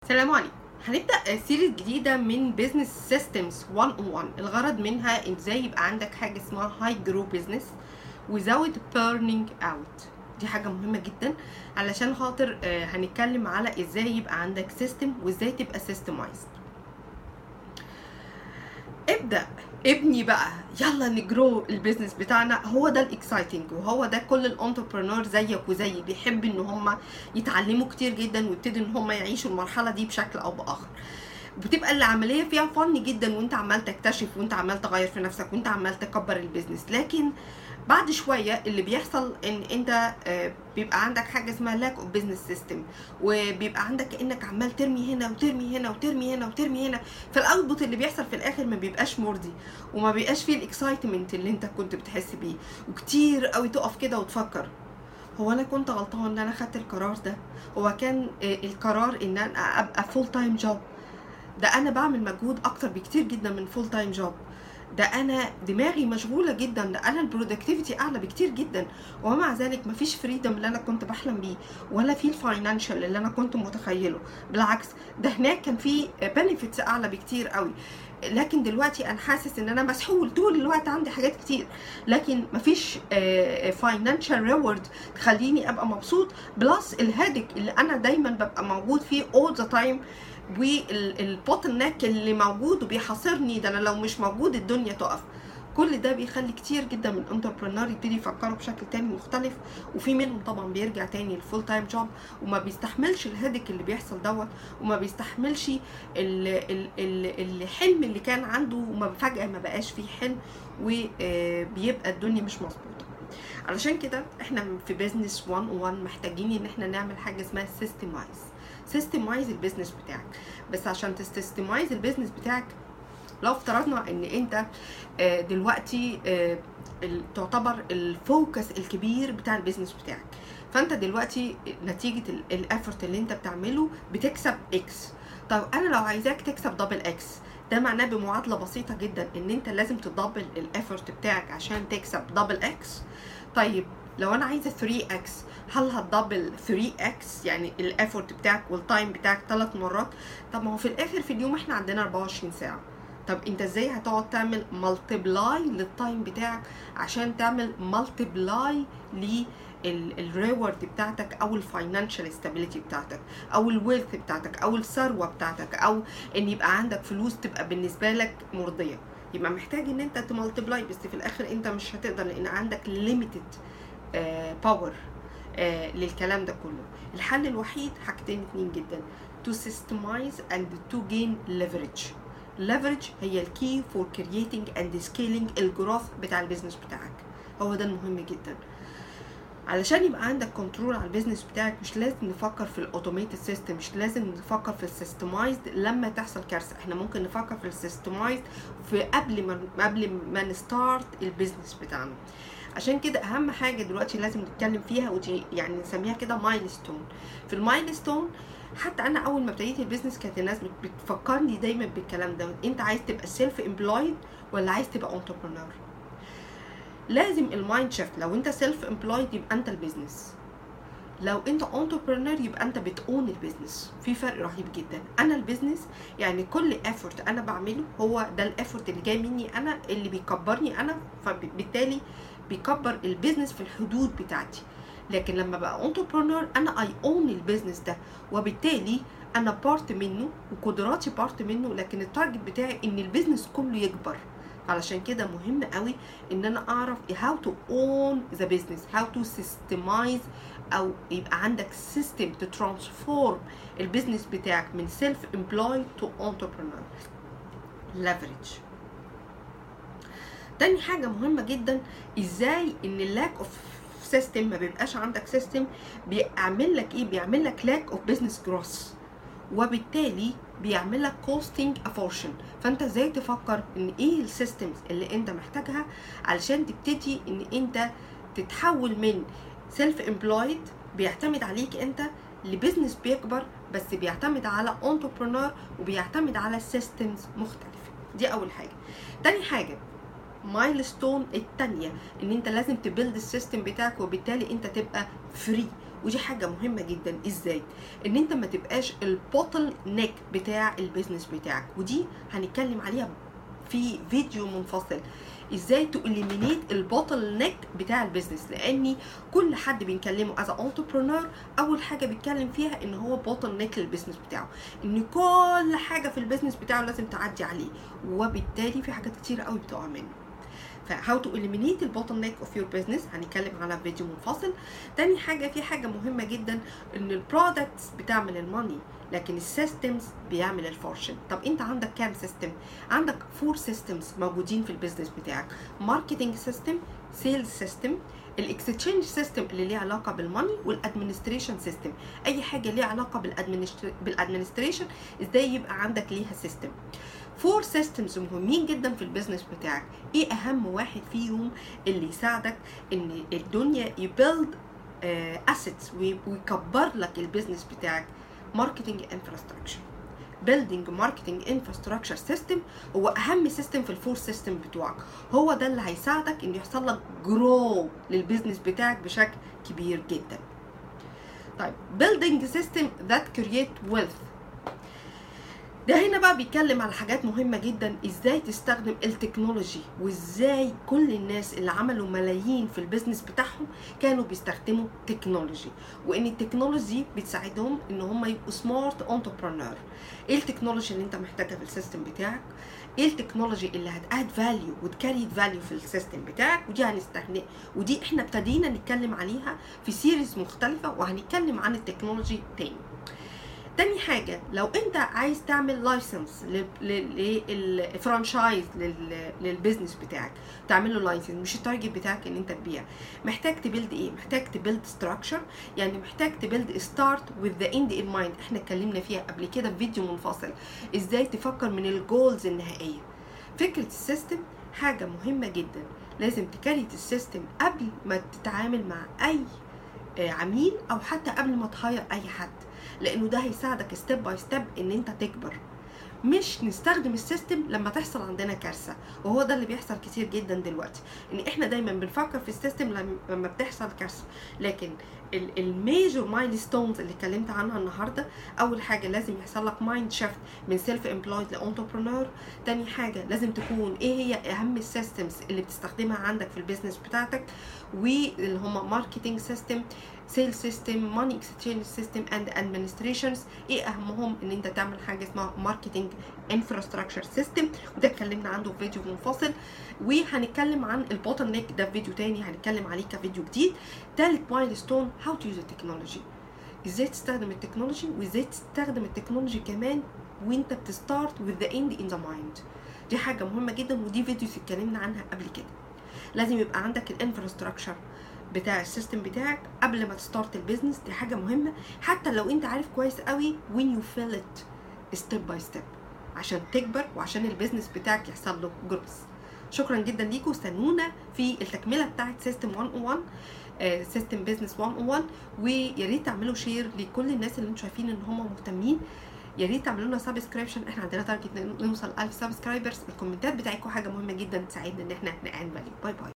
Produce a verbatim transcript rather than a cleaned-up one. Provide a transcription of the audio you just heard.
السلام عليكم. هنبدأ سيريز جديدة من بيزنس سيستمز واحد صفر واحد. الغرض منها ازاي يبقى عندك حاجة اسمها هاي جرو بيزنس without burning out. دي حاجة مهمة جدا علشان خاطر هنتكلم على ازاي يبقى عندك سيستم وازاي تبقى سيستمايزد. ابدأ ابني بقى، يلا نجرو البيزنس بتاعنا. هو ده الاكسايتنج، وهو ده كل الانتربرنور زيك وزيي بيحب ان هم يتعلموا كتير جدا ويبتدوا ان هم يعيشوا المرحله دي بشكل او باخر. بتبقى العمليه فيها فن جدا وانت عمال تكتشف وانت عمال تغير في نفسك وانت عمال تكبر البيزنس، لكن بعد شويه اللي بيحصل ان انت بيبقى عندك حاجه اسمها لاك اوف بزنس سيستم، وبيبقى عندك انك عمال ترمي هنا وترمي هنا وترمي هنا وترمي هنا، فالاوتبوت اللي بيحصل في الاخر ما بيبقاش مرضي وما بيبقاش فيه الاكسايتمنت اللي انت كنت بتحس بيه. وكتير قوي تقف كده وتفكر، هو انا كنت غلطان ان انا خدت القرار ده؟ هو كان القرار ان انا ابقى فول تايم جوب؟ ده انا بعمل مجهود اكتر بكتير جدا من فول تايم جوب، ده انا دماغي مشغوله جدا، ده انا البرودكتيفيتي اعلى بكتير جدا، ومع ذلك مفيش فريدم اللي انا كنت بحلم بيه، ولا في الفاينانشال اللي انا كنت متخيله. بالعكس، ده هناك كان في بنفيتس اعلى بكتير قوي، لكن دلوقتي انا حاسس ان انا مسحول طول الوقت، عندي حاجات كتير لكن مفيش فاينانشال ريورد تخليني ابقى مبسوط، بلس الهيدك اللي انا دايما ببقى موجود فيه all the time، والبوتل نيك اللي موجود وبيحاصرني، ده انا لو مش موجود الدنيا تقف. كل ده بيخلي كتير جدا من الانتربرنور يبتدي يفكروا بشكل تاني مختلف، وفي منهم طبعا بيرجع تاني للفول تايم جوب وما بيستحملش الهدك اللي بيحصل دوت، وما بيستحملش الحلم اللي كان عنده، وما فجأة ما بقاش فيه حلم وبيبقى الدنيا مش مظبوطه. علشان كده احنا في بيزنس واحد صفر واحد محتاجين ان احنا نعمل حاجه اسمها سيستمايز. سيستمايز البيزنس بتاعك. بس عشان تستمايز البيزنس بتاعك، لو افترضنا ان انت دلوقتي تعتبر الفوكس الكبير بتاع البيزنس بتاعك، فانت دلوقتي نتيجه الافورت اللي انت بتعمله بتكسب اكس. طب انا لو عايزاك تكسب دبل اكس، ده معناه بمعادله بسيطه جدا ان انت لازم تدبل الافورت بتاعك عشان تكسب دبل اكس. طيب لو انا عايزه ثري اكس، هل هتدبل ثري اكس يعني الافورت بتاعك والتايم بتاعك ثلاث مرات؟ طب ما هو في الاخر في اليوم احنا عندنا أربعة وعشرين ساعه، طب انت ازاي هتقعد تعمل مالتيبلاي للتايم بتاعك عشان تعمل مالتيبلاي للريورد بتاعتك او الفاينانشال ستابيليتي بتاعتك او الويلث بتاعتك او الثروه بتاعتك، او ان يبقى عندك فلوس تبقى بالنسبه لك مرضيه؟ يبقى محتاج ان انت تمالتيبلاي، بس في الاخر انت مش هتقدر لان عندك ليميتد باور للكلام ده كله. الحل الوحيد حاجتين اتنين جدا: to systemize and to gain leverage. leverage هي الكي فور creating and scaling الجروث بتاع البيزنس بتاعك، هو ده المهم جدا. علشان يبقى عندك كنترول على البيزنس بتاعك مش لازم نفكر في الاوتوميتد سيستم، مش لازم نفكر في السيستمايزد لما تحصل كارثه، احنا ممكن نفكر في السيستمايزد في قبل ما قبل ما نستارت البيزنس بتاعنا. عشان كده اهم حاجه دلوقتي لازم نتكلم فيها، ودي يعني نسميها كده مايلستون. في المايلستون، حتى انا اول ما ابتديت البيزنس كانت الناس بتفكرني دايما بالكلام ده: انت عايز تبقى سيلف امبلويد ولا عايز تبقى انتربرنور؟ لازم المايند شيفت. لو انت سيلف امبلويد يبقى انت البيزنس، لو انت انتربرنور يبقى انت بتقون البيزنس. في فرق رهيب جدا. انا البيزنس يعني كل افورت انا بعمله هو ده الافورت اللي جاي مني انا، اللي بيكبرني انا، فبالتالي بيكبر البيزنس في الحدود بتاعتي. لكن لما بقى انتربرنور انا اي اون البيزنس ده، وبالتالي انا بارت منه وقدراتي بارت منه، لكن التارجت بتاعي ان البيزنس كله يكبر. علشان كده مهم قوي ان انا اعرف how to own the business, how to systemize، او يبقى عندك system to transform البيزنس بتاعك من self employed to entrepreneur. leverage. تاني حاجة مهمة جدا، ازاي ان اللاك اوف سيستم ما بيبقاش عندك سيستم، بيعمل لك ايه؟ بيعمل لك لاك اوف بزنس جروث، وبالتالي بيعمل لك كوستنج افورشن. فانت ازاي تفكر ان ايه السيستمز اللي انت محتاجها علشان تبتدي ان انت تتحول من سيلف امبلويد بيعتمد عليك انت لبزنس بيكبر بس بيعتمد على انتربرنور وبيعتمد على سيستمز مختلفه. دي اول حاجه. تاني حاجه مايلستون التانية، ان انت لازم تبيلد السيستم بتاعك، وبالتالي انت تبقى فري ودي حاجه مهمه جدا. ازاي؟ ان انت ما تبقاش البوتل نيك بتاع البيزنس بتاعك، ودي هنتكلم عليها في فيديو منفصل، ازاي تؤليمينيت البوتل نيك بتاع البيزنس. لاني كل حد بنكلمه از انتربرنور اول حاجه بيتكلم فيها ان هو بوتل نيك للبيزنس بتاعه، ان كل حاجه في البيزنس بتاعه لازم تعدي عليه، وبالتالي في حاجات كتير قوي بتقع منه. فهاو تو eliminate البوتل نيك اوف يور بزنس هنتكلم على فيديو منفصل. تاني حاجه، في حاجه مهمه جدا، ان البرودكتس بتعمل الماني لكن السيستمز بيعمل الفورشن. طب انت عندك كام سيستم؟ عندك فور سيستمز موجودين في البيزنس بتاعك: ماركتنج سيستم، سيلز سيستم، الاكستشينج سيستم اللي ليه علاقه بالماني، والادمنستريشن سيستم. اي حاجه ليها علاقه بالادمنستريشن ازاي يبقى عندك ليها سيستم. فور سيستمز مهمين جدا في البيزنس بتاعك. ايه اهم واحد فيهم اللي يساعدك ان الدنيا يبيلد اسيتس ويكبر لك البيزنس بتاعك؟ ماركتنج انفراستراكشر. بيلدينج ماركتنج انفراستراكشر سيستم هو اهم سيستم في الفور سيستم بتوعك، هو ده اللي هيساعدك ان يحصل لك جرو للبيزنس بتاعك بشكل كبير جدا. طيب building system that create wealth، ده هنا بقى بيتكلم على حاجات مهمة جدا، ازاي تستخدم التكنولوجي، وازاي كل الناس اللي عملوا ملايين في البيزنس بتاعهم كانوا بيستخدموا تكنولوجي، وان التكنولوجي بتساعدهم ان هم يبقوا سمارت انتربرنور. ايه التكنولوجي اللي انت محتاجها في السيستم بتاعك؟ ايه التكنولوجي اللي هتاد فاليو وتكريت فاليو في السيستم بتاعك؟ ودي هنستخدم، ودي احنا ابتدينا نتكلم عليها في سيريز مختلفة، وهنتكلم عن التكنولوجي تاني. تاني حاجة، لو انت عايز تعمل لايسنس للفرانشايز للبيزنس بتاعك، تعمل له لايسنس، مش التارجت بتاعك ان انت تبيع، محتاج تبيلد ايه؟ محتاج تبيلد ستراكشر، يعني محتاج تبيلد ستارت وذ ذا اند ان مايند. احنا اتكلمنا فيها قبل كده في فيديو منفصل، ازاي تفكر من الجولز النهائية. فكرة السيستم حاجة مهمة جدا، لازم تكريت السيستم قبل ما تتعامل مع اي عميل او حتى قبل ما تهاير اي حد، لانه ده هيساعدك ستيب باي ستيب ان انت تكبر. مش نستخدم السيستم لما تحصل عندنا كارثه، وهو ده اللي بيحصل كتير جدا دلوقتي، ان احنا دايما بنفكر في السيستم لما بتحصل كارثه. لكن الميجور مايلستونز اللي اتكلمت عنها النهارده، اول حاجه لازم يحصل لك مايند شيفت من سيلف امبلويد لانتربرنور. تاني حاجه لازم تكون ايه هي اهم السيستمز اللي بتستخدمها عندك في البيزنس بتاعتك، واللي هم ماركتنج سيستم، سيل سيستم، ماني اكسشينج سيستم، اند ادمنستريشنز. ايه اهمهم؟ ان انت تعمل حاجه اسمها ماركتنج انفراستراكشر سيستم، وده اتكلمنا عنه في فيديو منفصل، وهنتكلم عن البوتل نيك ده في فيديو تاني هنتكلم عليه كفيديو جديد. تالت مايلستون، هاو تو يوز التكنولوجي، ازاي تستخدم التكنولوجي، وازاي تستخدم التكنولوجي كمان وانت بتستارت with the end in the mind. دي حاجه مهمه جدا، ودي فيديوز اتكلمنا عنها قبل كده. لازم يبقى عندك الانفراستراكشر بتاع السيستم بتاعك قبل ما تستارت البيزنس، دي حاجه مهمه، حتى لو انت عارف كويس قوي when you fill it step by step عشان تكبر وعشان البيزنس بتاعك يحصل له جروث. شكرا جدا ليكم، استنونا في التكمله بتاعت سيستم مية وواحد، سيستم بيزنس مية وواحد، ويا ريت تعملوا شير لكل الناس اللي انتم شايفين ان هم مهتمين. يا ريت تعملوا لنا سبسكريبشن، احنا عندنا تارجت نوصل ألف سبسكرايبرز. الكومنتات بتاعتكم حاجه مهمه جدا تساعدنا ان احنا نعمل فاليو. باي باي.